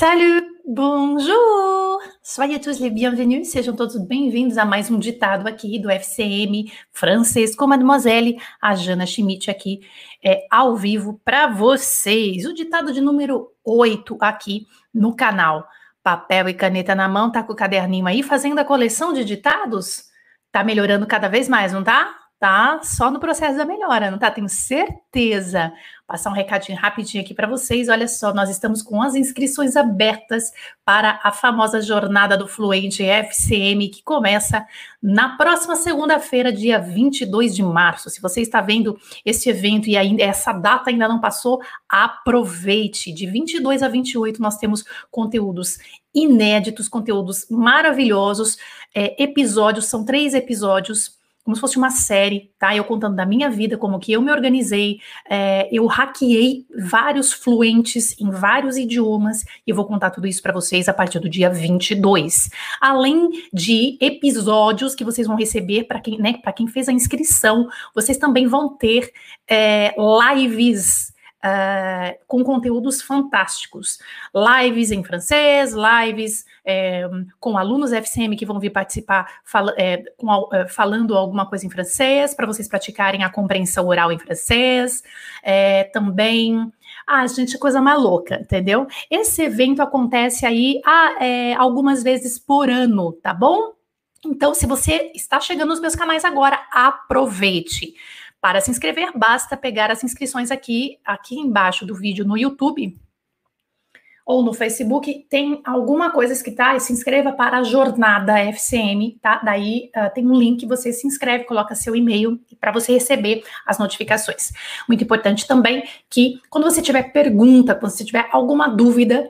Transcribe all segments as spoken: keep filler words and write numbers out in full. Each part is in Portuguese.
Salut, bonjour! Soyez tous les bienvenus, sejam todos bem-vindos a mais um ditado aqui do F C M francês com Mademoiselle, a Jana Schmidt aqui, é, ao vivo para vocês. O ditado de número oito aqui no canal. Papel e caneta na mão, tá com o caderninho aí fazendo a coleção de ditados? Tá melhorando cada vez mais, não tá? Tá só no processo da melhora, não tá? Tenho certeza. Passar um recadinho rapidinho aqui para vocês. Olha só, nós estamos com as inscrições abertas para a famosa jornada do Fluente F C M, que começa na próxima segunda-feira, dia vinte e dois de março. Se você está vendo esse evento e ainda essa data ainda não passou, aproveite. De vinte e dois a vinte e oito nós temos conteúdos inéditos, conteúdos maravilhosos, é, episódios, são três episódios, como se fosse uma série, tá? Eu contando da minha vida, como que eu me organizei, é, eu hackeei vários fluentes em vários idiomas, e eu vou contar tudo isso para vocês a partir do dia vinte e dois. Além de episódios que vocês vão receber, para quem, né, para quem fez a inscrição, vocês também vão ter é, lives Uh, com conteúdos fantásticos, lives em francês, lives é, com alunos F C M que vão vir participar fala, é, com, é, falando alguma coisa em francês, para vocês praticarem a compreensão oral em francês, é, também, ah, gente, coisa mais louca, entendeu? Esse evento acontece aí ah, é, algumas vezes por ano, tá bom? Então, se você está chegando nos meus canais agora, aproveite. Para se inscrever, basta pegar as inscrições aqui, aqui embaixo do vídeo no YouTube ou no Facebook, tem alguma coisa escrita, ah, se inscreva para a jornada F C M, tá? Daí uh, tem um link, você se inscreve, coloca seu e-mail para você receber as notificações. Muito importante também que quando você tiver pergunta, quando você tiver alguma dúvida,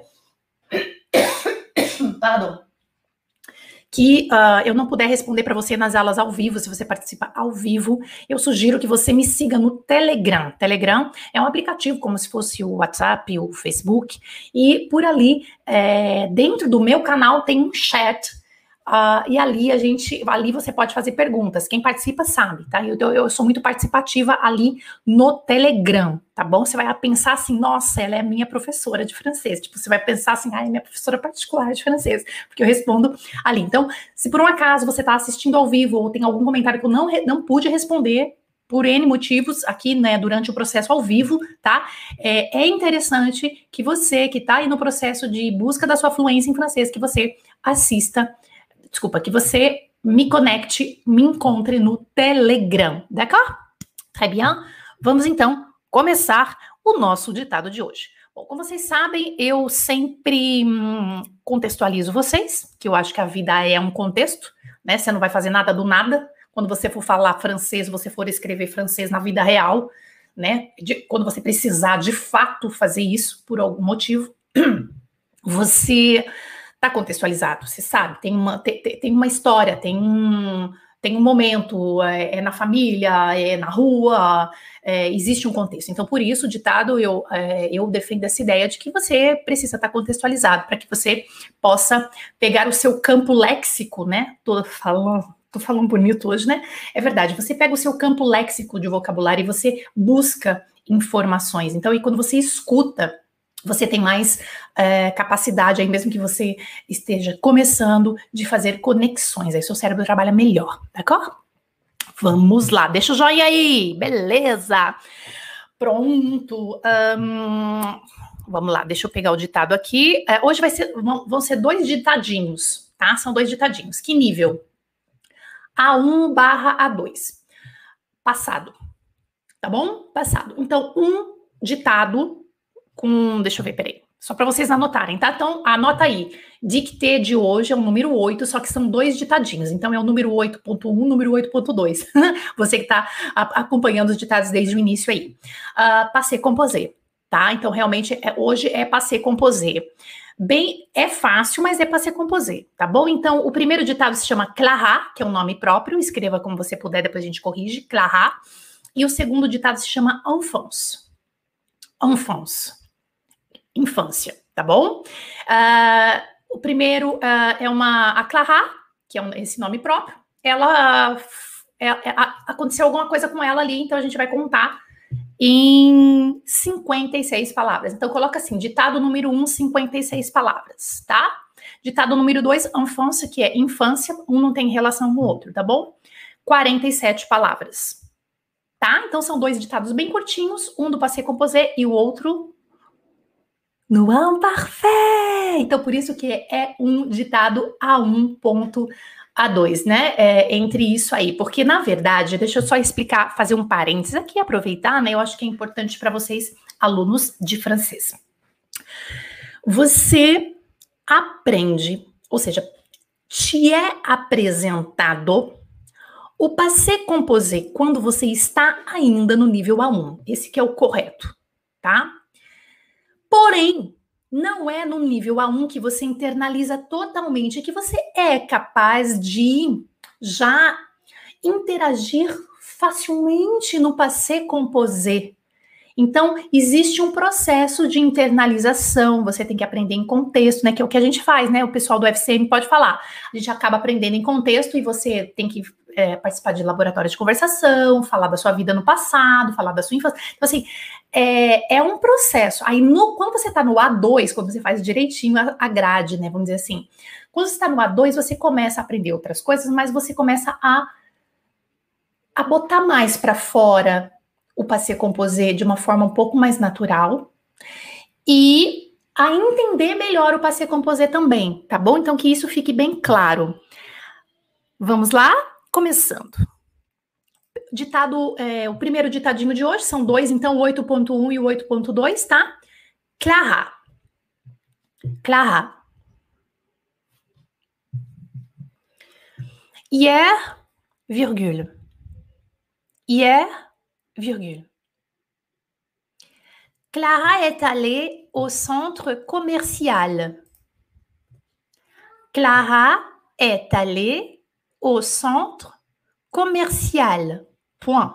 pardon, que uh, eu não puder responder para você nas aulas ao vivo, se você participa ao vivo, eu sugiro que você me siga no Telegram. Telegram é um aplicativo como se fosse o WhatsApp, o Facebook, e por ali, é, dentro do meu canal tem um chat, uh, e ali a gente, ali você pode fazer perguntas. Quem participa sabe, tá? Eu, eu sou muito participativa ali no Telegram, tá bom? Você vai pensar assim, nossa, ela é minha professora de francês. Tipo, você vai pensar assim, ah, é minha professora particular de francês, porque eu respondo ali. Então, se por um acaso você está assistindo ao vivo ou tem algum comentário que eu não, não pude responder, por N motivos, aqui, né, durante o processo ao vivo, tá? É, é interessante que você, que está aí no processo de busca da sua fluência em francês, que você assista, desculpa, que você me conecte, me encontre no Telegram, d'accord? Très bien. Vamos, então, começar o nosso ditado de hoje. Bom, como vocês sabem, eu sempre hum, contextualizo vocês, que eu acho que a vida é um contexto, né? Você não vai fazer nada do nada. Quando você for falar francês, você for escrever francês na vida real, né? De, quando você precisar, de fato, fazer isso por algum motivo, você está contextualizado, você sabe, tem uma, tem, tem uma história, tem um... Tem um momento, é, é na família, é na rua, é, existe um contexto. Então, por isso, o ditado, eu, é, eu defendo essa ideia de que você precisa estar contextualizado, para que você possa pegar o seu campo léxico, né? Tô falando, tô falando bonito hoje, né? É verdade, você pega o seu campo léxico de vocabulário e você busca informações. Então, e quando você escuta, você tem mais é, capacidade, aí mesmo que você esteja começando, de fazer conexões. Aí seu cérebro trabalha melhor, d'accord? Vamos lá, deixa o joinha aí, beleza? Pronto. Um, vamos lá, deixa eu pegar o ditado aqui. É, hoje vai ser, vão, vão ser dois ditadinhos, tá? São dois ditadinhos. Que nível? A um barra A dois. Passado, tá bom? Passado. Então, um ditado com, deixa eu ver, peraí, só para vocês anotarem, tá? Então, anota aí, dictê de hoje é o número oito, só que são dois ditadinhos, então é o número oito ponto um, número oito ponto dois, você que tá a, acompanhando os ditados desde o início aí. Uh, passé composé, tá? Então, realmente, é, hoje é passé composé. Bem, é fácil, mas é passé composé, tá bom? Então, o primeiro ditado se chama Clara, que é um nome próprio, escreva como você puder, depois a gente corrige, Clara, e o segundo ditado se chama enfance, enfance. Infância, tá bom? Uh, o primeiro uh, é uma... A Clara, que é um, esse nome próprio, ela... É, é, aconteceu alguma coisa com ela ali, então a gente vai contar em cinquenta e seis palavras. Então, coloca assim, ditado número um, cinquenta e seis palavras, tá? Ditado número dois, enfância, que é infância, um não tem relação com o outro, tá bom? quarenta e sete palavras, tá? Então, são dois ditados bem curtinhos, um do passé composé e o outro no imparfait. Então, por isso que é um ditado A um ponto A dois, né? É, entre isso aí. Porque, na verdade, deixa eu só explicar, fazer um parênteses aqui, aproveitar, né? Eu acho que é importante para vocês, alunos de francês. Você aprende, ou seja, te é apresentado o passé composé quando você está ainda no nível A um. Esse que é o correto, tá? Porém, não é no nível A um que você internaliza totalmente, que você é capaz de já interagir facilmente no passé composé. Então, existe um processo de internalização, você tem que aprender em contexto, né? Que é o que a gente faz, né? O pessoal do F C M pode falar. A gente acaba aprendendo em contexto e você tem que é, participar de laboratórios de conversação, falar da sua vida no passado, falar da sua infância. Então, assim, é, é um processo. Aí, no, quando você está no A dois, quando você faz direitinho a, a grade, né? Vamos dizer assim. Quando você está no A dois, você começa a aprender outras coisas, mas você começa a, a botar mais para fora o passé composé de uma forma um pouco mais natural e a entender melhor o passé composé também, tá bom? Então que isso fique bem claro. Vamos lá? Começando. Ditado, é, o primeiro ditadinho de hoje, são dois, então o oito ponto um e o oito ponto dois, tá? Clara. Clara. Hier, virgule. Hier, virgule. Clara est allée au centre commercial. Clara est allée au centre commercial. Point.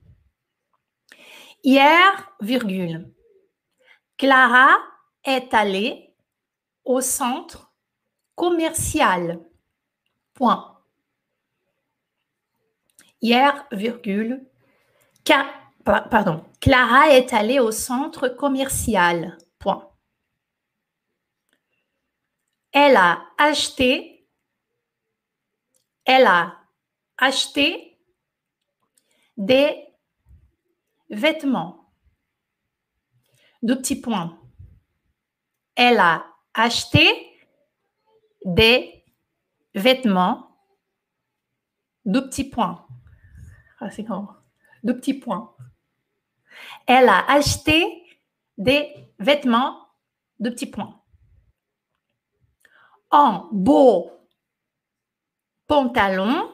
Hier, virgule. Clara est allée au centre commercial. Point. Hier, virgule. Ca- Pardon. Clara est allée au centre commercial. Point. Elle a acheté. Elle a acheté des vêtements. Deux petits points. Elle a acheté des vêtements. Deux petits points. Ah, c'est comment? Deux petits points. Elle a acheté des vêtements. Deux petits points. Un beau pantalon.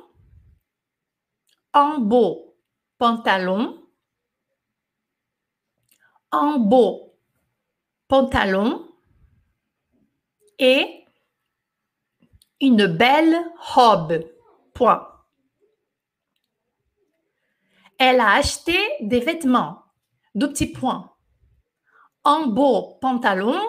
Un beau pantalon. Un beau pantalon et une belle robe. Point. Elle a acheté des vêtements. Deux petits points. Un beau pantalon.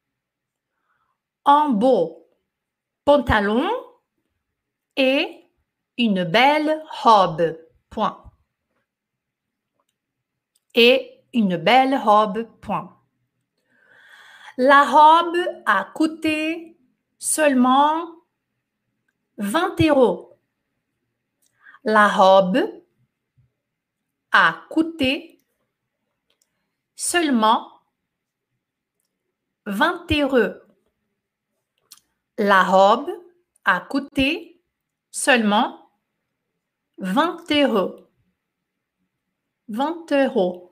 Un beau pantalon et une belle robe. Point. Et une belle robe. Point. La robe a coûté seulement vingt euros. La robe a coûté seulement vingt euros. La robe a coûté seulement vingt euros. vingt euros.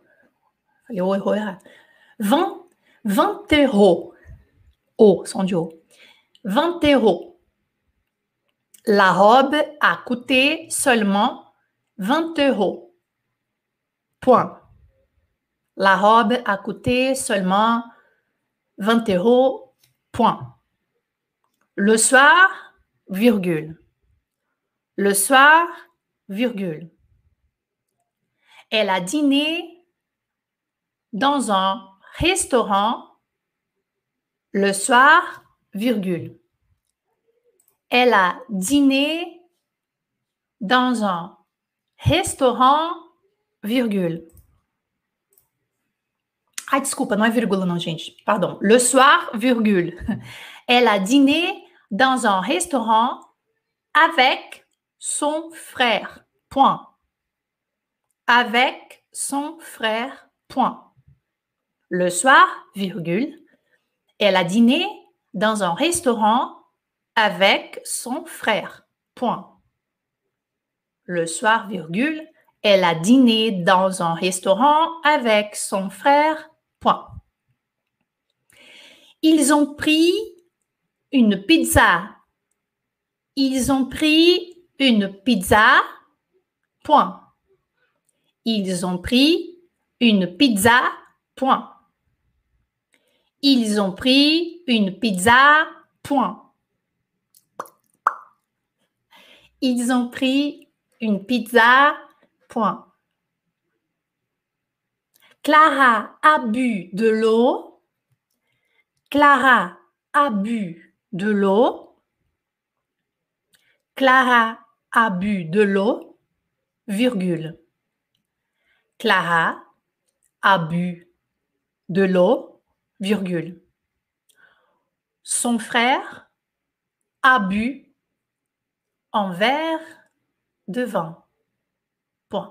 vingt, vingt euros. Oh, son du haut. vingt euros. La robe a coûté seulement vingt euros. Point. La robe a coûté seulement vingt euros. Point. Le soir, virgule. Le soir, virgule. Elle a dîné dans un restaurant le soir, virgule. Elle a dîné dans un restaurant, virgule. Ai, desculpa, não é vírgula não, gente. Pardon. Le soir, virgule. Elle a dîné dans un restaurant avec son frère. Point. Avec son frère. Point. Le soir, virgule. Elle a dîné dans un restaurant avec son frère. Point. Le soir, virgule. Elle a dîné dans un restaurant avec son frère. Point. Ils ont pris une pizza. Ils ont pris une pizza. Point. Ils ont pris une pizza. Point. Ils ont pris une pizza. Point. Ils ont pris une pizza. Point. Clara a bu de l'eau. Clara a bu de l'eau. Clara a bu de l'eau, virgule. Clara a bu de l'eau, virgule. Son frère a bu un verre de vin. Point.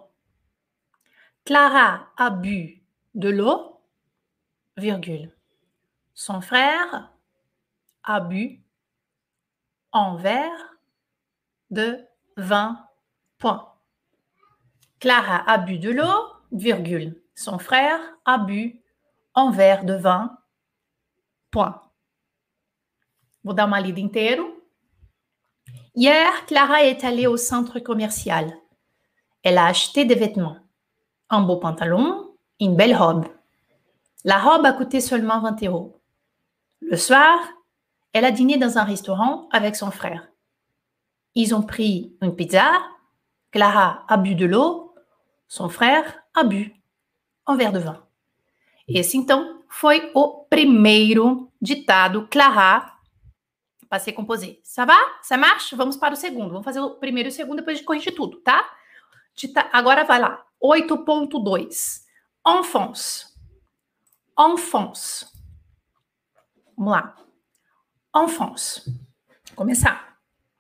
Clara a bu de l'eau, virgule. Son frère a bu un verre de vin. Point. Clara a bu de l'eau, virgule. Son frère a bu um verre de vin. Point. Vou dar uma lida inteiro. Hier, Clara est allée au centre commercial. Elle a acheté des vêtements. Un beau pantalon, une belle robe. La robe a coûté seulement vingt euros. Le soir, elle a dîné dans un restaurant avec son frère. Ils ont pris une pizza. Clara a bu de l'eau. Son frère a bu um verre de vin. Esse, então, foi o primeiro ditado. Clara, passei composé. Ça va? Ça marche? Vamos para o segundo. Vamos fazer o primeiro e o segundo, depois a gente corrige tudo, tá? Dita... Agora vai lá. oito ponto dois. Enfance. Enfance. Vamos lá. Enfance. Vou começar.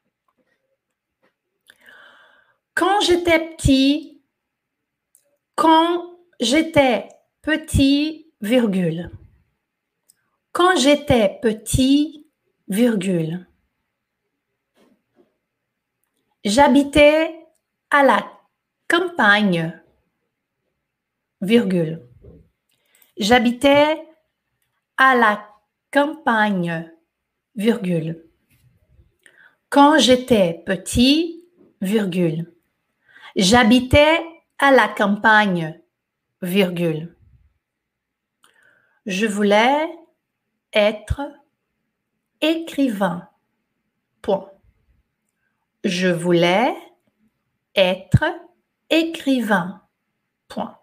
Quand j'étais petit, quand j'étais petit, virgule. Quand j'étais petit, virgule. J'habitais à la campagne, virgule. J'habitais à la campagne, virgule. Quand j'étais petit, virgule. J'habitais à la campagne, virgule. Je voulais être écrivain, point. Je voulais être écrivain, point.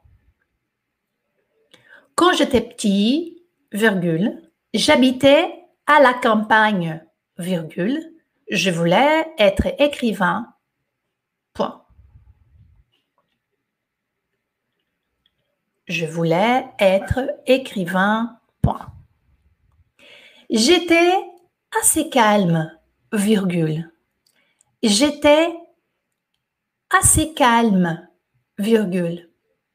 Quand j'étais petit, virgule, j'habitais à la campagne, virgule. Je voulais être écrivain, point. Je voulais être écrivain, point. J'étais assez calme, virgule. J'étais assez calme, virgule.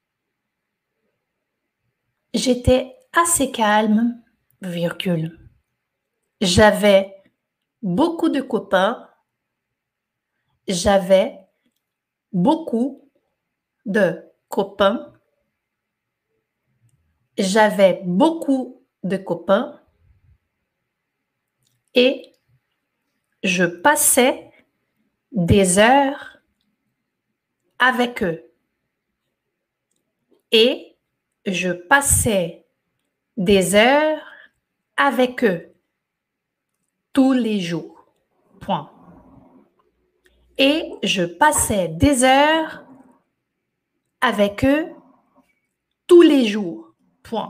J'étais assez calme, virgule. J'avais beaucoup de copains. J'avais beaucoup de copains. J'avais beaucoup de copains. Et je passais des heures avec eux. Et je passais des heures avec eux tous les jours. Point. Et je passais des heures avec eux tous les jours. Point.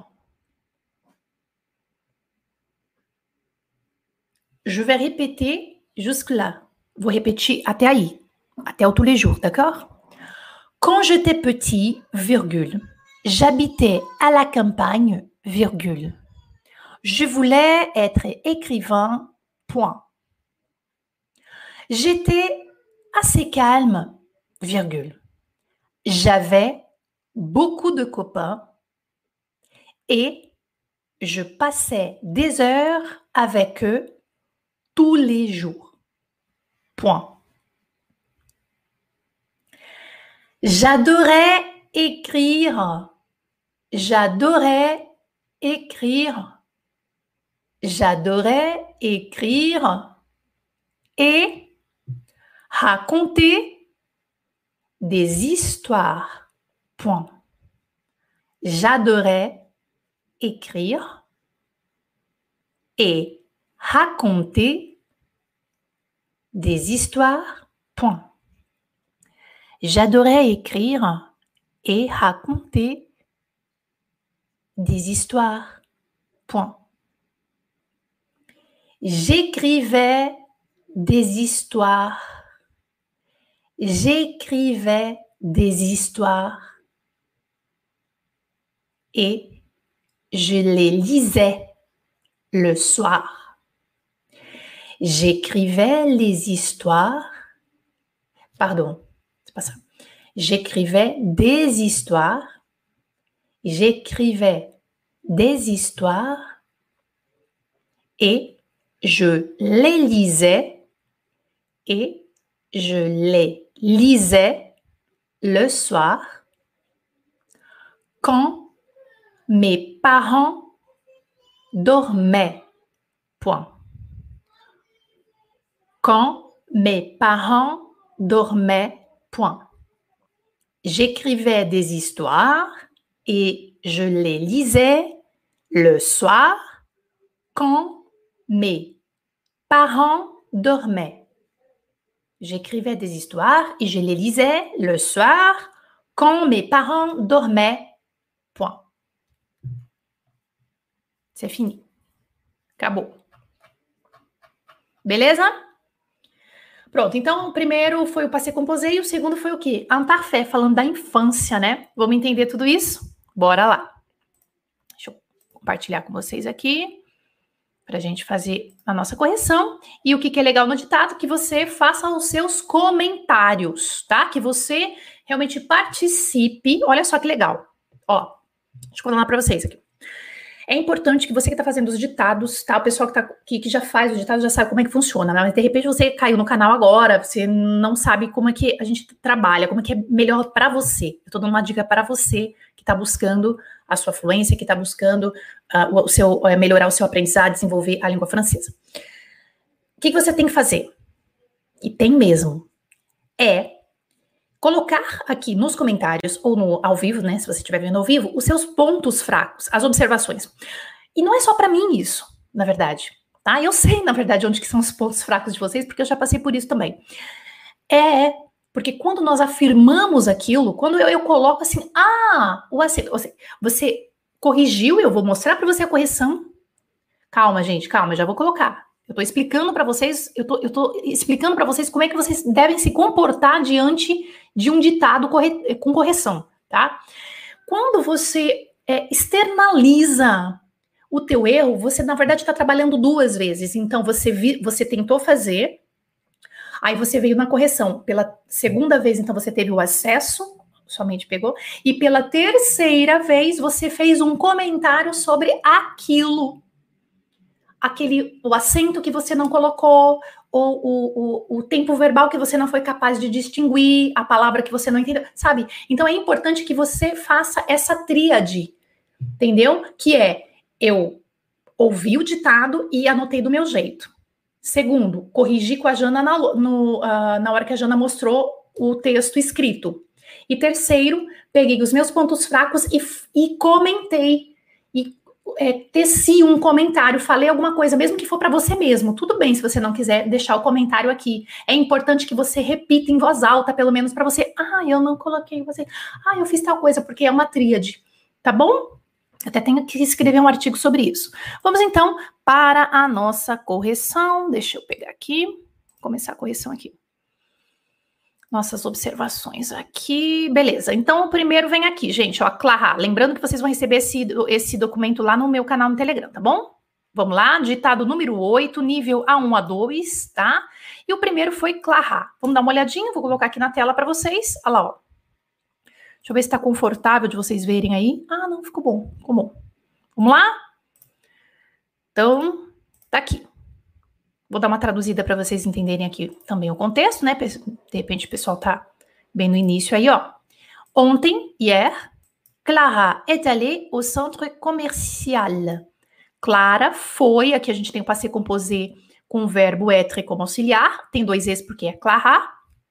Je vais répéter jusque-là. Vou repetir até aí. Até o tous les jours, d'accord? Quand j'étais petit, virgule, j'habitais à la campagne, virgule. Je voulais être écrivain, point. J'étais assez calme, virgule. J'avais beaucoup de copains et je passais des heures avec eux tous les jours, point. J'adorais écrire. J'adorais écrire. J'adorais écrire et raconter des histoires. Point. J'adorais écrire et raconter des histoires. Point. J'adorais écrire et raconter des histoires. Point. J'écrivais des histoires. J'écrivais des histoires et je les lisais le soir. J'écrivais les histoires. Pardon, c'est pas ça. J'écrivais des histoires. J'écrivais des histoires et je les lisais et je les lisais le soir quand mes parents dormaient. Point. Quand mes parents dormaient. Point. J'écrivais des histoires et je les lisais le soir quand mes parents dormaient. J'écrivais des histoires et je les lisais le soir quand mes parents dormaient. Point. C'est fini. Acabou. Beleza? Pronto, então o primeiro foi o passé composé e o segundo foi o quê? Un parfait, falando da infância, né? Vamos entender tudo isso? Bora lá. Deixa eu compartilhar com vocês aqui para a gente fazer a nossa correção. E o que, que é legal no ditado? Que você faça os seus comentários, tá? Que você realmente participe. Olha só que legal. Ó, deixa eu falar para vocês aqui. É importante que você que está fazendo os ditados, tá? O pessoal que, tá, que, que já faz os ditados já sabe como é que funciona, né? Mas de repente você caiu no canal agora, você não sabe como é que a gente trabalha, como é que é melhor para você. Eu tô dando uma dica para você que está buscando a sua fluência, que está buscando uh, o seu, uh, melhorar o seu aprendizado, desenvolver a língua francesa. O que, que você tem que fazer? E tem mesmo. É colocar aqui nos comentários ou no ao vivo, né, se você estiver vendo ao vivo, os seus pontos fracos, as observações. E não é só para mim isso, na verdade, tá? Eu sei, na verdade, onde que são os pontos fracos de vocês, porque eu já passei por isso também. É, porque quando nós afirmamos aquilo, quando eu, eu coloco assim, ah, o acento, você, você corrigiu, eu vou mostrar para você a correção. Calma, gente, calma, eu já vou colocar. Eu tô explicando para vocês, eu tô, eu tô explicando para vocês como é que vocês devem se comportar diante de um ditado corre, com correção, tá? Quando você é, externaliza o teu erro, você, na verdade, está trabalhando duas vezes. Então, você, vi, você tentou fazer, aí você veio na correção. Pela segunda vez, então, você teve o acesso, somente pegou, e pela terceira vez, você fez um comentário sobre aquilo. Aquele, o acento que você não colocou, ou o, o, o tempo verbal que você não foi capaz de distinguir, a palavra que você não entendeu, sabe? Então é importante que você faça essa tríade, entendeu? Que é, eu ouvi o ditado e anotei do meu jeito. Segundo, corrigi com a Jana na, no, uh, na hora que a Jana mostrou o texto escrito. E terceiro, peguei os meus pontos fracos e, e comentei. E É, teci um comentário, falei alguma coisa, mesmo que for para você mesmo, tudo bem se você não quiser deixar o comentário aqui. É importante que você repita em voz alta, pelo menos para você. Ah, eu não coloquei você. Ah, eu fiz tal coisa, porque é uma tríade, tá bom? Até tenho que escrever um artigo sobre isso. Vamos então para a nossa correção. Deixa eu pegar aqui, começar a correção aqui. nossas observações aqui. Beleza, então o primeiro vem aqui, gente, ó, Clara. Lembrando que vocês vão receber esse, esse documento lá no meu canal no Telegram, tá bom? Vamos lá, ditado número oito, nível A um, A dois, tá? E o primeiro foi Clara. Vamos dar uma olhadinha, vou colocar aqui na tela para vocês. Olha lá, ó. Deixa eu ver se tá confortável de vocês verem aí. Ah, não, ficou bom, ficou bom. Vamos lá? Então, tá aqui. Vou dar uma traduzida para vocês entenderem aqui também o contexto, né? De repente o pessoal tá bem no início aí, ó. Ontem, hier, Clara est allée au centre commercial. Clara foi, aqui a gente tem o passé composé com o verbo être como auxiliar, tem dois es porque é Clara.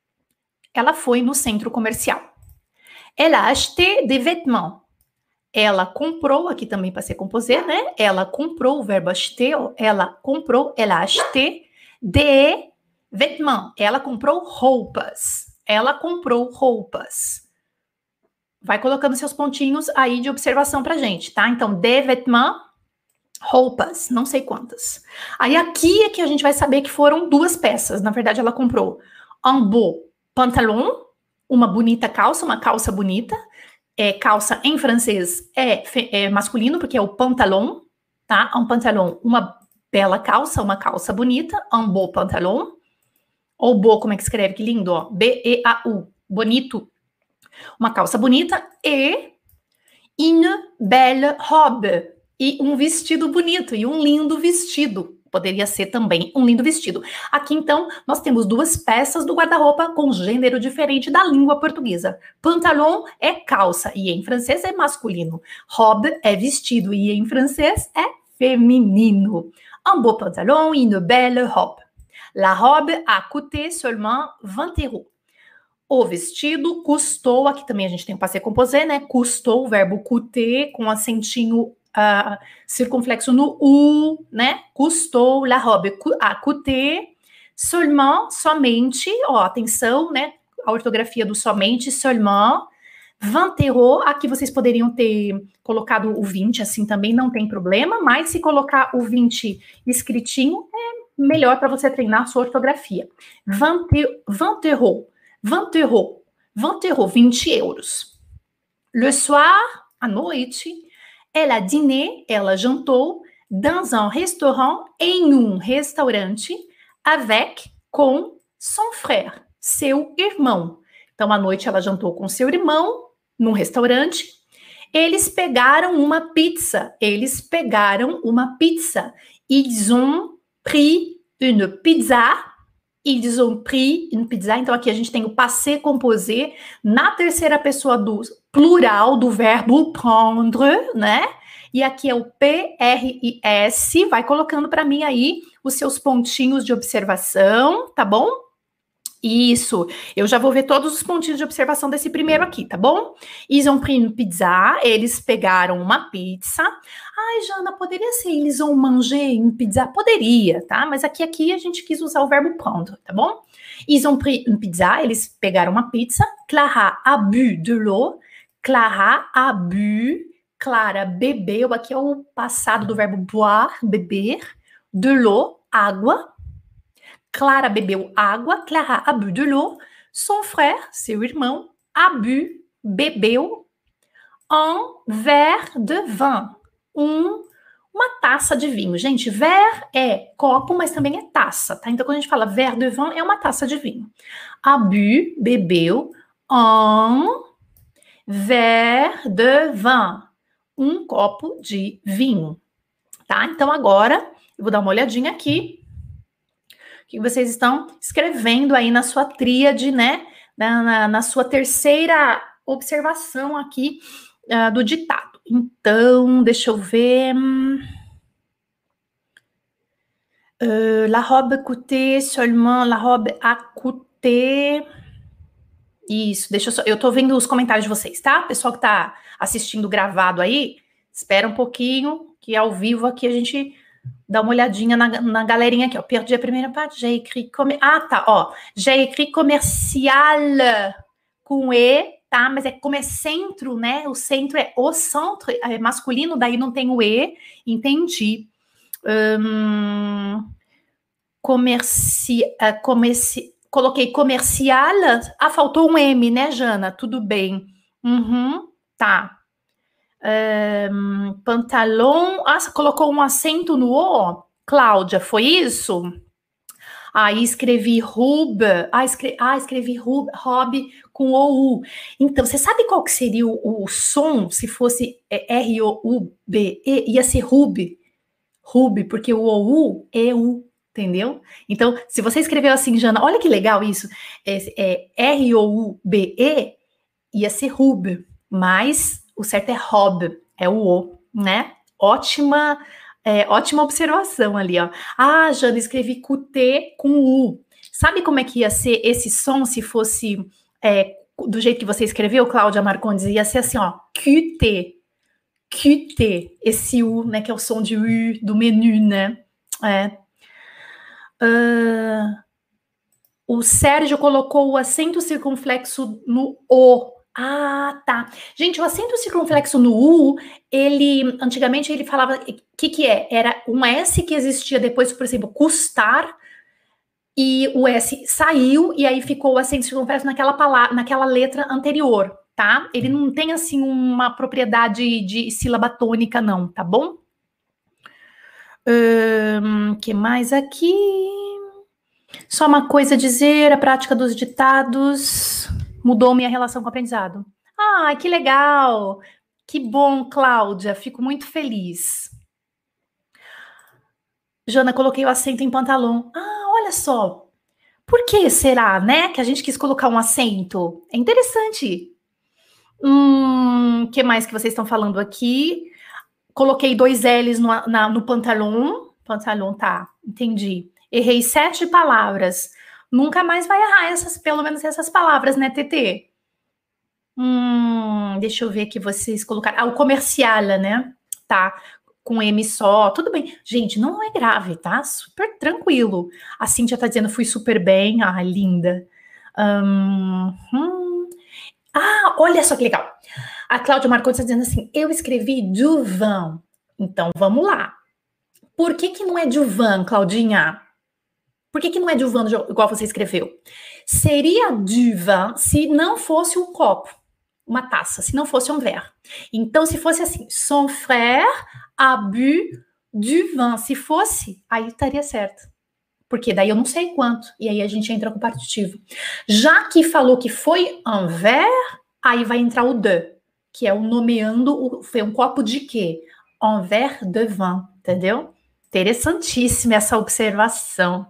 Ela foi no centro comercial. Elle a acheté des vêtements. Ela comprou, aqui também passé composé, né? Ela comprou, o verbo acheter, ela comprou, elle a acheté des vêtements. Ela comprou roupas. Ela comprou roupas. Vai colocando seus pontinhos aí de observação pra gente, tá? Então, des vêtements, roupas, não sei quantas. Aí aqui é que a gente vai saber que foram duas peças. Na verdade, ela comprou un beau pantalon, uma bonita calça, uma calça bonita. É, calça em francês é, é masculino, porque é o pantalon, tá? Um pantalon, uma bela calça, uma calça bonita, un beau pantalon. Ou beau, como é que escreve? Que lindo, ó. B E A U, bonito. Uma calça bonita e une belle robe. E um vestido bonito, e um lindo vestido. Poderia ser também um lindo vestido. Aqui, então, nós temos duas peças do guarda-roupa com gênero diferente da língua portuguesa. Pantalon é calça e em francês é masculino. Robe é vestido e em francês é feminino. Un beau pantalon, une belle robe. La robe a coûté seulement vingt euros. O vestido custou, aqui também a gente tem o passé composé, né? Custou, o verbo coûter com acentinho Uh, circunflexo no U, né? Custou, la robe a coûté, seulement, somente, ó, atenção, né? A ortografia do somente, seulement, vingt euros, aqui vocês poderiam ter colocado o vinte, assim também não tem problema, mas se colocar o vinte escritinho, é melhor para você treinar a sua ortografia. vingt, vingt euros, vingt euros, vingt euros, vinte euros. Le soir, à noite, elle a dîné, ela jantou, dans un restaurant, em um restaurante, avec, com, son frère, seu irmão. Então, à noite, ela jantou com seu irmão, num restaurante. Eles pegaram uma pizza. Eles pegaram uma pizza. Ils ont pris une pizza. Ils ont pris une pizza. Então, aqui a gente tem o passé composé na terceira pessoa do plural do verbo prendre, né? E aqui é o P R I S. Vai colocando para mim aí os seus pontinhos de observação, tá bom? Isso. Eu já vou ver todos os pontinhos de observação desse primeiro aqui, tá bom? Ils ont pris une pizza. Eles pegaram uma pizza. Ai, Jana, poderia ser ils ont mangé une pizza? Poderia, tá? Mas aqui, aqui a gente quis usar o verbo prendre, tá bom? Ils ont pris une pizza. Eles pegaram uma pizza. Clara a bu de l'eau. Clara a bu. Clara bebeu. Aqui é o passado do verbo boire, beber. De l'eau, água. Clara bebeu água. Clara a bu de l'eau. Son frère, seu irmão, a bu, bebeu un verre de vin. Um, uma taça de vinho. Gente, verre é copo, mas também é taça, tá? Então, quando a gente fala verre de vin, é uma taça de vinho. A bu, bebeu un verre de vin. Um copo de vinho, tá? Então, agora, eu vou dar uma olhadinha aqui. O que vocês estão escrevendo aí na sua tríade, né? Na, na, na sua terceira observação aqui uh, do ditado. Então, deixa eu ver. Uh, la robe coûtait seulement, la robe a coûté. Isso, deixa eu só. Eu tô vendo os comentários de vocês, tá? Pessoal que tá assistindo gravado aí, espera um pouquinho, que ao vivo aqui a gente dá uma olhadinha na, na galerinha aqui, ó. Perdi a primeira parte, j'ai écrit comme... Ah, tá, ó. J'ai écrit comercial com E, tá? Mas é como é centro, né? O centro é o centro, é masculino, daí não tem o E. Entendi. Hum, comerci, uh, comerci, coloquei comercial. Ah, faltou um M, né, Jana? Tudo bem. Uhum, tá. Um, pantalão. Ah, você colocou um acento no O? Cláudia, foi isso? Aí escrevi rub. Ah, escre... ah, escrevi rub, hobby com O U. Então, você sabe qual que seria o, o som se fosse R O U B E? Ia ser rub. Rub, porque o O U é U. Entendeu? Então, se você escreveu assim, Jana, olha que legal isso. É, é R O U B E, ia ser rub. Mas o certo é hob, é o O, né? Ótima, é, ótima observação ali, ó. Ah, Jana, escrevi Q T com U. Sabe como é que ia ser esse som se fosse é, do jeito que você escreveu, Cláudia Marcondes? Ia ser assim, ó, Q T. Q T, esse U, né, que é o som de U do menu, né? É. Uh, o Sérgio colocou o acento circunflexo no O. Ah, tá. Gente, o acento circunflexo no U, ele, antigamente ele falava, o que que é? Era um S que existia depois, por exemplo, custar, e o S saiu, e aí ficou o acento circunflexo naquela palavra, naquela letra anterior, tá? Ele não tem, assim, uma propriedade de sílaba tônica, não, tá bom? O um, que mais aqui? Só uma coisa a dizer, a prática dos ditados mudou minha relação com o aprendizado. Ah, que legal! Que bom, Cláudia, fico muito feliz. Jana, coloquei o acento em pantalão. Ah, olha só. Por que será, né, que a gente quis colocar um acento? É interessante. Hum, o que mais que vocês estão falando aqui? Coloquei dois L's no, na, no pantalão. Pantalão, tá, entendi. Errei sete palavras. Nunca mais vai errar essas, pelo menos essas palavras, né, T T? Hum, deixa eu ver aqui, vocês colocaram. Ah, o comercial, né? Tá, com M só. Tudo bem. Gente, não é grave, tá? Super tranquilo. A Cíntia tá dizendo, fui super bem. Ah, linda. Hum, hum. Ah, olha só que legal. A Cláudia Marcondes está dizendo assim, eu escrevi du vin. Então, vamos lá. Por que que não é du vin, Claudinha? Por que que não é du vin igual você escreveu? Seria du vin se não fosse um copo, uma taça, se não fosse um verre. Então, se fosse assim, son frère a bu du vin. Se fosse, aí estaria certo. Porque daí eu não sei quanto. E aí a gente entra com o partitivo. Já que falou que foi un verre, aí vai entrar o de, que é o nomeando, foi um copo de quê? Un verre de vin, entendeu? Interessantíssima essa observação.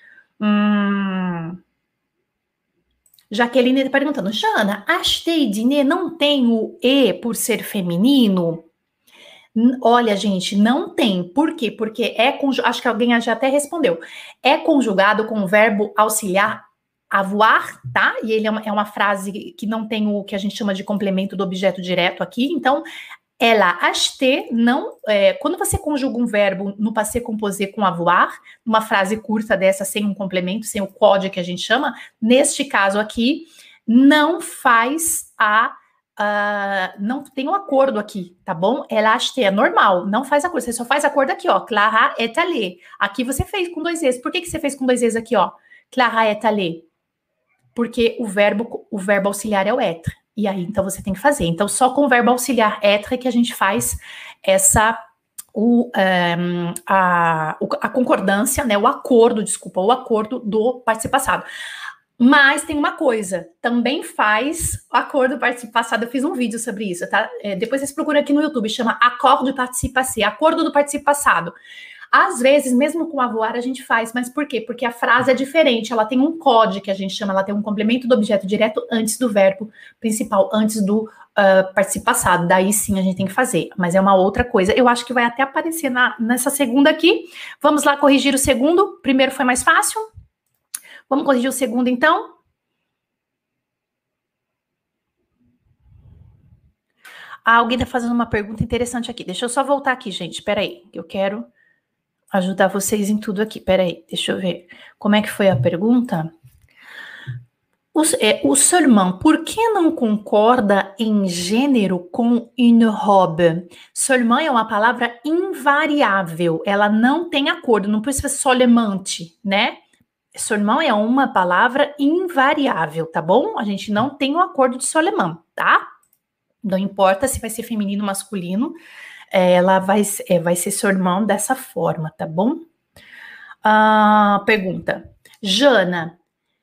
Hum... Jaqueline está perguntando, Jana, acheter e dîner não tem o E por ser feminino? Olha, gente, não tem. Por quê? Porque é conjugado, acho que alguém já até respondeu. É conjugado com o verbo auxiliar avoir, tá? E ele é uma, é uma frase que não tem o que a gente chama de complemento do objeto direto aqui. Então, ela, acheter, não... É, quando você conjuga um verbo no passé composé com avoir, uma frase curta dessa, sem um complemento, sem o código que a gente chama, neste caso aqui, não faz a... Uh, não tem um acordo aqui, tá bom? Ela acheter é normal, não faz acordo. Você só faz acordo aqui, ó. Clara est allée. Aqui você fez com dois E's. Por que que você fez com dois E's aqui, ó? Clara est allée. Porque o verbo, o verbo auxiliar é o être. E aí, então, você tem que fazer. Então, só com o verbo auxiliar être que a gente faz essa... O, um, a, a concordância, né? O acordo, desculpa, o acordo do participo passado. Mas tem uma coisa, também faz acordo do participo passado, eu fiz um vídeo sobre isso, tá? É, depois vocês procuram aqui no YouTube, chama Acorde du participe passé, acordo do participo passado. Às vezes, mesmo com avoir, a gente faz, mas por quê? Porque a frase é diferente, ela tem um código que a gente chama, ela tem um complemento do objeto direto antes do verbo principal, antes do uh, participo passado, daí sim a gente tem que fazer, mas é uma outra coisa. Eu acho que vai até aparecer na, nessa segunda aqui. Vamos lá corrigir o segundo, o primeiro foi mais fácil. Vamos corrigir o segundo, então? Ah, alguém está fazendo uma pergunta interessante aqui. Deixa eu só voltar aqui, gente. Espera aí, eu quero ajudar vocês em tudo aqui. Espera aí, deixa eu ver. Como é que foi a pergunta? O, é, o seulement, por que não concorda em gênero com une robe? Seulement é uma palavra invariável. Ela não tem acordo. Não precisa ser solemente, né? Seulement é uma palavra invariável, tá bom? A gente não tem um acordo de Soleman, tá? Não importa se vai ser feminino ou masculino, ela vai, é, vai ser seulement dessa forma, tá bom? Ah, pergunta. Jana,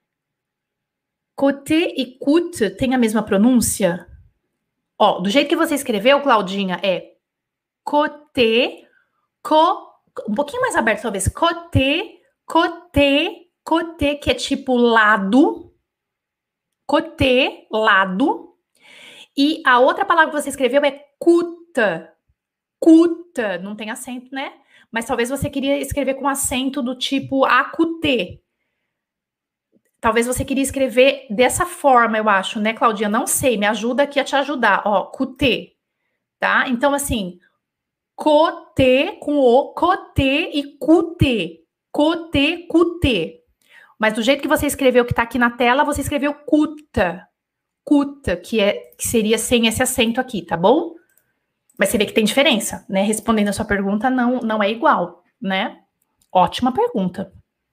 côté e coute tem a mesma pronúncia? Ó, do jeito que você escreveu, Claudinha, é côté, co, um pouquinho mais aberto talvez, côté, côté, côté, que é tipo lado, côté, lado, e a outra palavra que você escreveu é cuta, cuta, não tem acento, né? Mas talvez você queria escrever com acento do tipo acutê. Talvez você queria escrever dessa forma, eu acho, né, Claudinha? Não sei, me ajuda aqui a te ajudar. Ó, cutê, tá? Então, assim, côté com o, côté e cutê. Côté, cutê. Mas do jeito que você escreveu, que tá aqui na tela, você escreveu cuta. Cuta, que, é, que seria sem esse acento aqui, tá bom? Mas você vê que tem diferença, né? Respondendo a sua pergunta, não, não é igual, né? Ótima pergunta.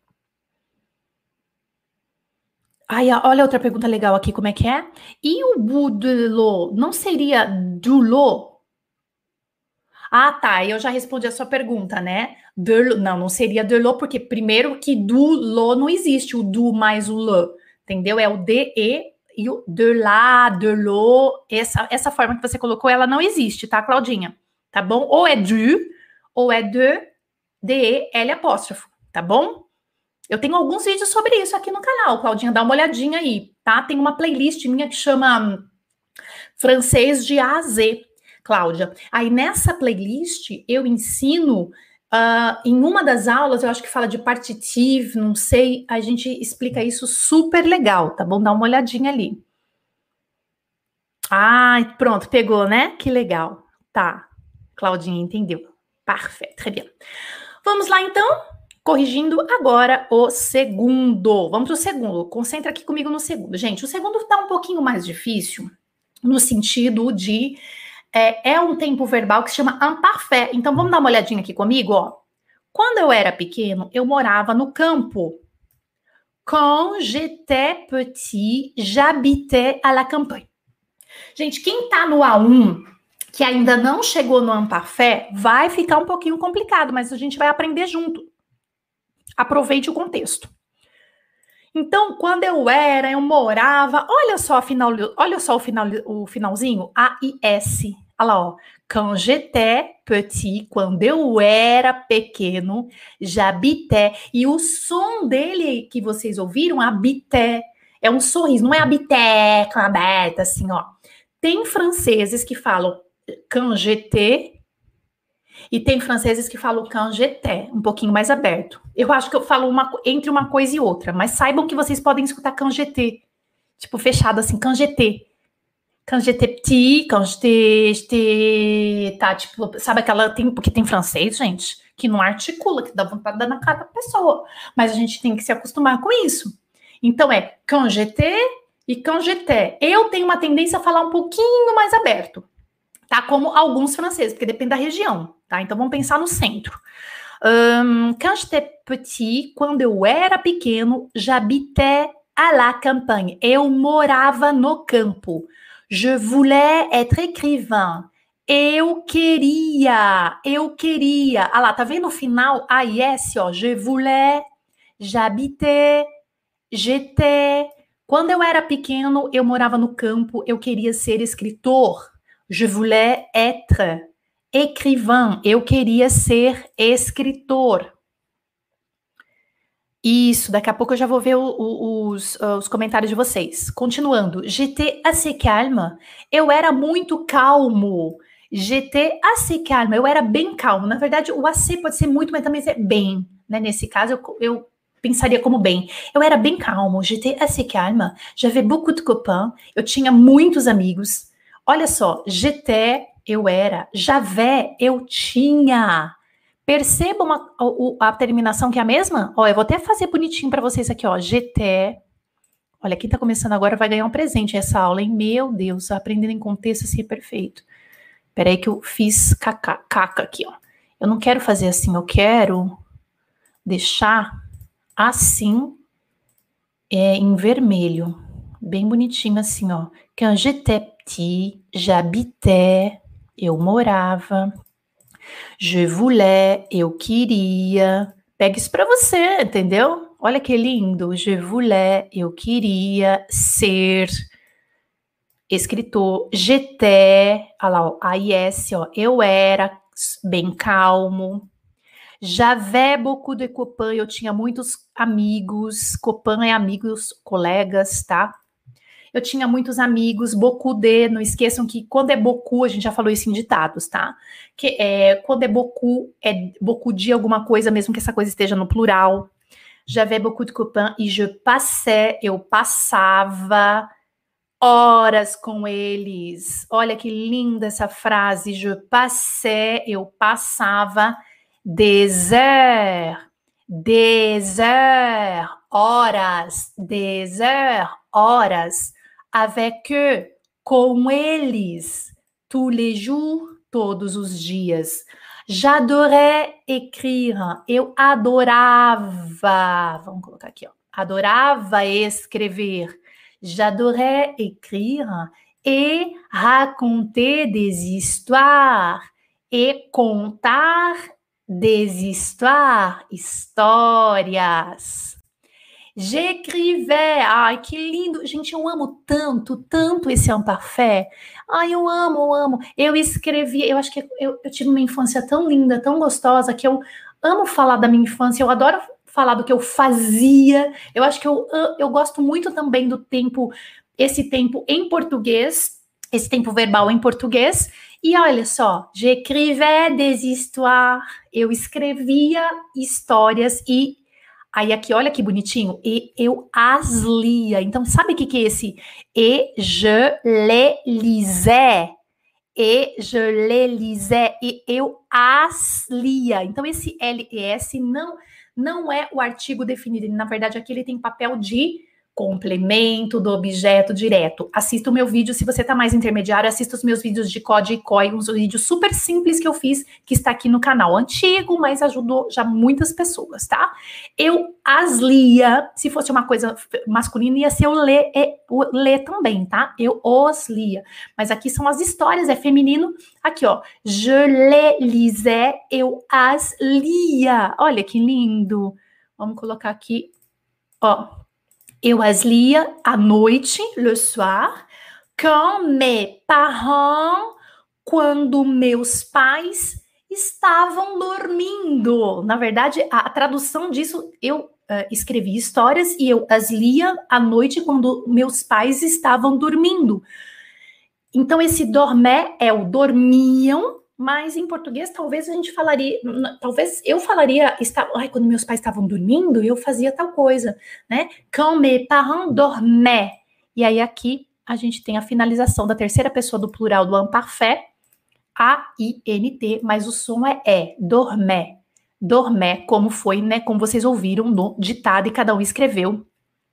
Ai, olha outra pergunta legal aqui, como é que é? E o boudelot, não seria dulot? Ah, tá, eu já respondi a sua pergunta, né? De, não, não seria delot, porque primeiro que dulot não existe, o du mais o le, entendeu? É o de, e e o de lá, de lo, essa, essa forma que você colocou, ela não existe, tá, Claudinha? Tá bom? Ou é du, ou é de, de, L apóstrofo, tá bom? Eu tenho alguns vídeos sobre isso aqui no canal, Claudinha, dá uma olhadinha aí, tá? Tem uma playlist minha que chama Francês de A a Z, Cláudia. Aí nessa playlist eu ensino, uh, em uma das aulas, eu acho que fala de partitive, não sei, a gente explica isso super legal, tá bom? Dá uma olhadinha ali. Ah, pronto, pegou, né? Que legal. Tá, Claudinha entendeu. Parfait, très bien. Vamos lá então? Corrigindo agora o segundo. Vamos para o segundo. Concentra aqui comigo no segundo. Gente, o segundo está um pouquinho mais difícil, no sentido de é, é um tempo verbal que se chama imparfait. Então, vamos dar uma olhadinha aqui comigo, ó. Quando eu era pequeno, eu morava no campo. Quand j'étais petit, j'habitais à la campagne. Gente, quem tá no A um, que ainda não chegou no imparfait, vai ficar um pouquinho complicado, mas a gente vai aprender junto. Aproveite o contexto. Então, quando eu era, eu morava, olha só, final, olha só o, final, o finalzinho, A I S. Olha lá, ó. Quand j'étais petit, quando eu era pequeno, j'habitais. E o som dele que vocês ouviram, habitais, é um sorriso, não é habitais, com aberta, assim, ó. Tem franceses que falam quand j'étais, e tem franceses que falam quand j'étais, um pouquinho mais aberto. Eu acho que eu falo uma, entre uma coisa e outra, mas saibam que vocês podem escutar quand j'étais, tipo fechado assim, quand j'étais. Quand j'étais petit, quand j'étais, j'étais, tá, tipo, sabe aquela, tem, porque tem francês, gente, que não articula, que dá vontade de dar na cara da pessoa, mas a gente tem que se acostumar com isso. Então é quand j'étais e quand j'étais. Eu tenho uma tendência a falar um pouquinho mais aberto, tá? Como alguns franceses, porque depende da região, tá? Então vamos pensar no centro. Um, quand j'étais petit, quando eu era pequeno, j'habitais à la campagne. Eu morava no campo. Je voulais être écrivain. Eu queria, eu queria. Ah lá, tá vendo o final? A I S, ó. Je voulais, j'habitais, j'étais. Quando eu era pequeno, eu morava no campo, eu queria ser escritor. Je voulais être écrivain. Eu queria ser escritor. Isso, daqui a pouco eu já vou ver o, o, os, os comentários de vocês. Continuando. J'étais assez calme. Eu era muito calmo. J'étais assez calme. Eu era bem calmo. Na verdade, o assez pode ser muito, mas também ser bem. Né? Nesse caso, eu, eu pensaria como bem. Eu era bem calmo. J'étais assez calme. J'avais beaucoup de copains. Eu tinha muitos amigos. Olha só. J'étais, eu era. J'avais, eu tinha. Percebam a, a, a terminação que é a mesma? Ó, eu vou até fazer bonitinho para vocês aqui, ó. J'étais. Olha, quem tá começando agora vai ganhar um presente essa aula, hein? Meu Deus, aprendendo em contexto assim é perfeito. Peraí que eu fiz caca, caca aqui, ó. Eu não quero fazer assim, eu quero deixar assim é em vermelho, bem bonitinho assim, ó. Quand j'étais petit, j'habitais, eu morava. Je voulais, eu queria. Pega isso pra você, entendeu? Olha que lindo. Je voulais, eu queria ser escritor. J'étais, olha lá, ó, A I S, ó, eu era bem calmo. J'avais beaucoup de copains, eu tinha muitos amigos. Copain é amigos, colegas, tá? Eu tinha muitos amigos, beaucoup de, não esqueçam que quando é beaucoup, a gente já falou isso em ditados, tá? Que é, quando é beaucoup, é beaucoup de alguma coisa, mesmo que essa coisa esteja no plural. J'avais beaucoup de copains e je passais, eu passava horas com eles. Olha que linda essa frase, je passais, eu passava des heures, des heures, horas, des heures, horas, avec eux, com eles, tous les jours, todos os dias. J'adorais écrire, eu adorava, vamos colocar aqui, ó, adorava escrever. J'adorais écrire et raconter des histoires, e contar des histoires, histórias. J'écrivais, ai, que lindo. Gente, eu amo tanto, tanto esse imparfait. Ai, eu amo, eu amo. Eu escrevi, eu acho que eu, eu tive uma infância tão linda, tão gostosa, que eu amo falar da minha infância, eu adoro falar do que eu fazia. Eu acho que eu, eu gosto muito também do tempo, esse tempo em português, esse tempo verbal em português. E olha só, j'écrivais des histoires, eu escrevia histórias e aí aqui, olha que bonitinho, e eu as lia. Então, sabe o que, que é esse? Et je les lisais. Et je les lisais. E eu as lia. Então, esse L E S não, não é o artigo definido. Na verdade, aqui ele tem papel de complemento do objeto direto. Assista o meu vídeo, se você tá mais intermediário, assista os meus vídeos de C O D e C O I, uns vídeos super simples que eu fiz, que está aqui no canal, antigo, mas ajudou já muitas pessoas, tá? Eu as lia, se fosse uma coisa masculina, ia ser o ler, o ler também, tá? Eu os lia, mas aqui são as histórias, é feminino, aqui ó, je les lisais, eu as lia, olha que lindo, vamos colocar aqui, ó, eu as lia à noite, le soir, quand mes parents, quando meus pais estavam dormindo. Na verdade, a, a tradução disso, eu uh, escrevi histórias e eu as lia à noite quando meus pais estavam dormindo. Então, esse dormir é o dormiam, mas em português talvez a gente falaria, talvez eu falaria, está, ai, quando meus pais estavam dormindo, eu fazia tal coisa, né? Quand mes parents dormaient. E aí aqui a gente tem a finalização da terceira pessoa do plural do imparfait, A I N T, mas o som é E, dormait. Dormait, como foi, né? Como vocês ouviram no ditado e cada um escreveu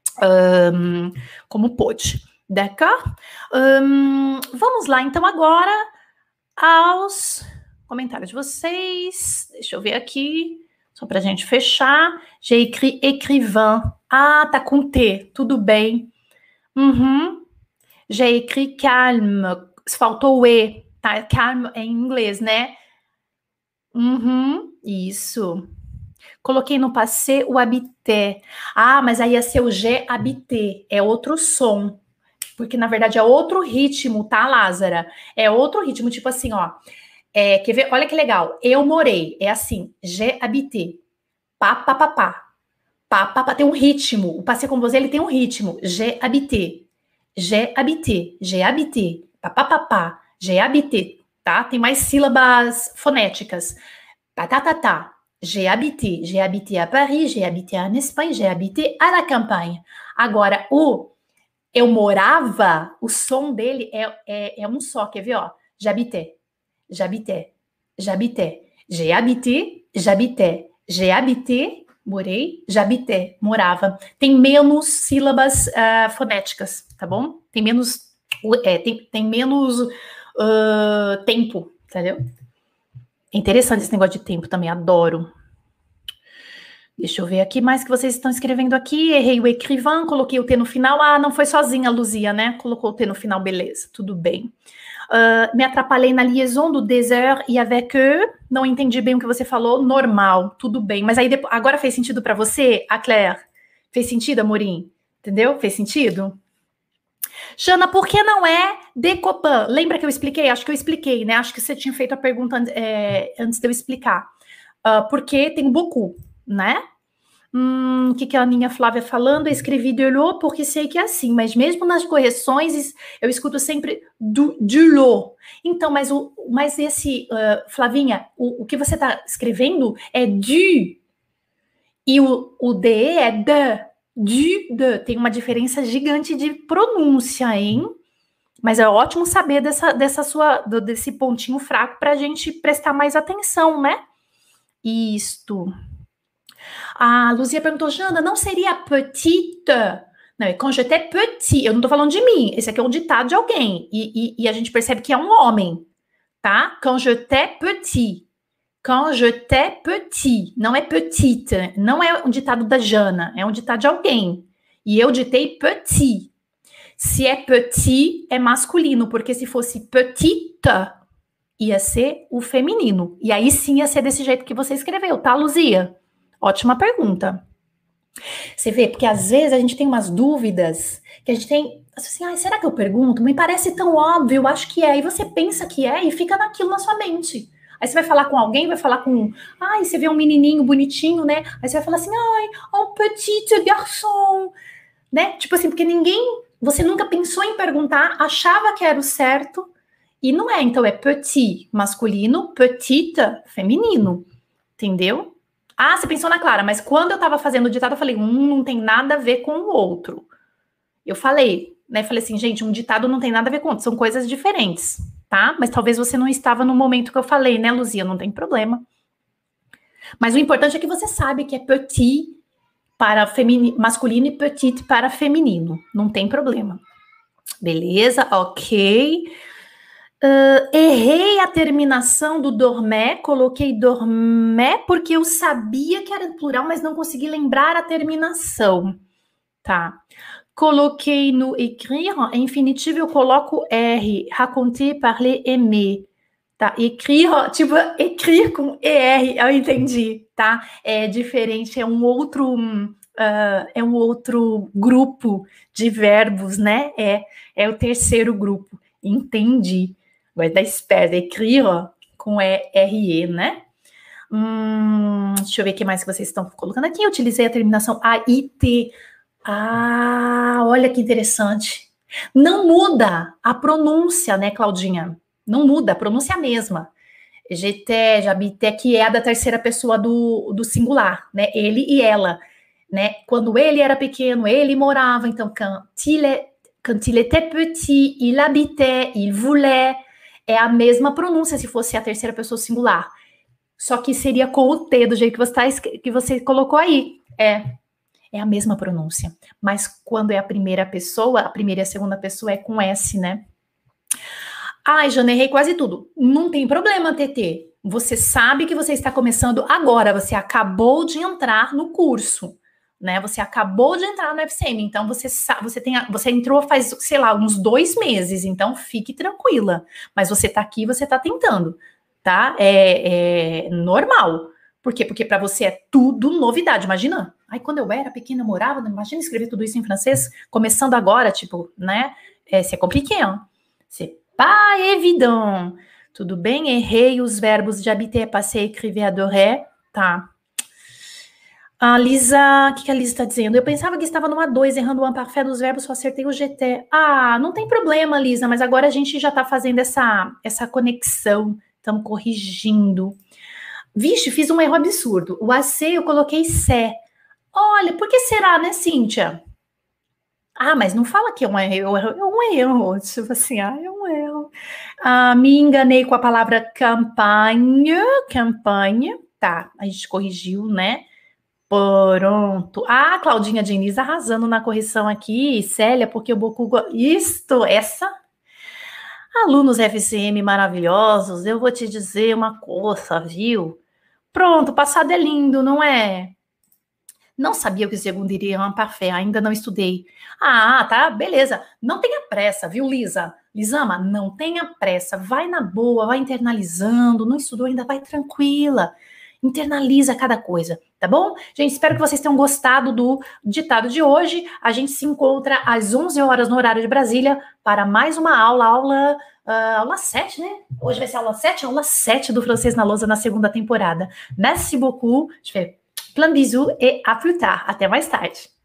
um, como pôde. D'accord? Um, vamos lá, então agora aos comentários de vocês. Deixa eu ver aqui, só pra gente fechar. J'ai écrit écrivain. Ah, tá com T, tudo bem. Uhum. J'ai écrit calme. Faltou o E, tá? Calme é em inglês, né? Uhum, isso. Coloquei no passé o habité. Ah, mas aí ia ser o G habité. É outro som. Porque, na verdade, é outro ritmo, tá, Lázara? É outro ritmo, tipo assim, ó. É, quer ver? Olha que legal. Eu morei. É assim. J'ai habité. Pá, pá, pá, pá. Pá, pá, pá. Tem um ritmo. O passé com você, ele tem um ritmo. J'ai habité. J'ai habité. J'ai habité. Pá, pá, pá, pá. J'ai habité. Tá? Tem mais sílabas fonéticas. Pá, tá, tá, tá. J'ai habité. J'ai habité à Paris. J'ai habité en Espagne. J'ai habité à la campagne. Agora, o eu morava, o som dele é, é, é um só, quer ver, ó? J'habitais, j'habitais, j'habitais, j'ai habité, j'habitais, j'ai habité, morei, j'habitais, morava. Tem menos sílabas uh, fonéticas, tá bom? Tem menos, é, tem, tem menos uh, tempo, entendeu? É interessante esse negócio de tempo também, adoro. Deixa eu ver aqui mais que vocês estão escrevendo aqui. Errei o écrivain, coloquei o T no final. Ah, não foi sozinha, Luzia, né? Colocou o T no final, beleza, tudo bem. Uh, me atrapalhei na liaison do désert e avec eux. Não entendi bem o que você falou. Normal, tudo bem. Mas aí depois, agora fez sentido para você, a Claire? Fez sentido, Amorim? Entendeu? Fez sentido? Jana, por que não é de Copan? Lembra que eu expliquei? Acho que eu expliquei, né? Acho que você tinha feito a pergunta é, antes de eu explicar. Uh, porque tem beaucoup, né? Hum, o que, que a Aninha Flávia falando? Eu escrevi de l'eau porque sei que é assim, mas mesmo nas correções eu escuto sempre do, de l'eau. Então, mas, o, mas esse, uh, Flavinha, o, o que você está escrevendo é du. E o, o de é de. Du, de. Tem uma diferença gigante de pronúncia, hein? Mas é ótimo saber dessa, dessa sua, desse pontinho fraco para a gente prestar mais atenção, né? Isto. A Luzia perguntou, Jana, não seria petite? Não, é quand j'étais petit. Eu não tô falando de mim. Esse aqui é um ditado de alguém. E, e, e a gente percebe que é um homem, tá? Quand j'étais petit. Quand j'étais petit. Não é petite. Não é um ditado da Jana. É um ditado de alguém. E eu ditei petit. Se é petit, é masculino. Porque se fosse petite, ia ser o feminino. E aí sim ia ser desse jeito que você escreveu, tá, Luzia? Ótima pergunta. Você vê, porque às vezes a gente tem umas dúvidas que a gente tem, assim, ah, será que eu pergunto? Me parece tão óbvio, eu acho que é. E você pensa que é e fica naquilo na sua mente. Aí você vai falar com alguém, vai falar com, ai, você vê um menininho bonitinho, né? Aí você vai falar assim, ai, um petit garçon, né? Tipo assim, porque ninguém, você nunca pensou em perguntar, achava que era o certo e não é. Então é petit masculino, petite feminino, entendeu? Ah, você pensou na Clara, mas quando eu tava fazendo o ditado, eu falei, um não tem nada a ver com o outro. Eu falei, né? Falei assim, gente, um ditado não tem nada a ver com o outro, são coisas diferentes, tá? Mas talvez você não estava no momento que eu falei, né, Luzia? Não tem problema. Mas o importante é que você sabe que é petit para femini- masculino e petite para feminino. Não tem problema. Beleza, ok. Uh, errei a terminação do dormé, coloquei dormé porque eu sabia que era plural, mas não consegui lembrar a terminação, tá? Coloquei no écrire, em infinitivo eu coloco R, raconter, parler, aimer, tá? Écrire, tipo, écrire com E R, eu entendi, tá? É diferente, é um outro, uh, é um outro grupo de verbos, né? É, é o terceiro grupo, entendi. Vai dar esperta, écrire com R E, né? Hum, deixa eu ver o que mais que vocês estão colocando aqui. Eu utilizei a terminação A I T. Ah, olha que interessante. Não muda a pronúncia, né, Claudinha? Não muda, a pronúncia é a mesma. J'étais, j'habitais, que é a da terceira pessoa do, do singular, né? Ele e ela, né? Quando ele era pequeno, ele morava. Então, quand il, est, quand il était petit, il habitait, il voulait. É a mesma pronúncia se fosse a terceira pessoa singular. Só que seria com o T, do jeito que você, tá, que você colocou aí. É, é a mesma pronúncia. Mas quando é a primeira pessoa, a primeira e a segunda pessoa é com S, né? Ai, Jana, errei quase tudo. Não tem problema, T T. Você sabe que você está começando agora. Você acabou de entrar no curso, né? Você acabou de entrar no F C M. Então, você, você, tem, você entrou faz, sei lá, uns dois meses. Então, fique tranquila. Mas você está aqui, você está tentando, tá? É, é normal. Por quê? Porque para você é tudo novidade. Imagina. Ai, quando eu era pequena, eu morava. Imagina escrever tudo isso em francês. Começando agora, tipo, né? É, c'est compliqué, hein? C'est pas évident. Tudo bem? Errei os verbos de habiter, passer, écrire, adorer. Tá. A Lisa, o que, que a Lisa está dizendo? Eu pensava que estava numa dois, errando o imparfait dos verbos, só acertei o G T. Ah, não tem problema, Lisa, mas agora a gente já está fazendo essa, essa conexão. Estamos corrigindo. Vixe, fiz um erro absurdo. O A C eu coloquei C. Olha, por que será, né, Cíntia? Ah, mas não fala que é um erro, é um erro. Tipo assim, ah, é um erro. Ah, me enganei com a palavra campanha, campanha. Tá, a gente corrigiu, né? Pronto. Ah, Claudinha Diniz arrasando na correção aqui. Célia, porque o Boku... Isto, essa... Alunos F C M maravilhosos, eu vou te dizer uma coisa, viu? Pronto, o passado é lindo, não é? Não sabia o que o segundo iria é um parfait, ainda não estudei. Ah, tá, beleza. Não tenha pressa, viu, Lisa? Lisama, não tenha pressa. Vai na boa, vai internalizando. Não estudou ainda, vai tranquila. Internaliza cada coisa, tá bom? Gente, espero que vocês tenham gostado do ditado de hoje. A gente se encontra às onze horas no horário de Brasília para mais uma aula, aula, uh, aula sete, né? Hoje vai ser aula sete, aula sete do Francês na Lousa na segunda temporada. Merci beaucoup. Je fais plein de bisous et à plus tard. Até mais tarde.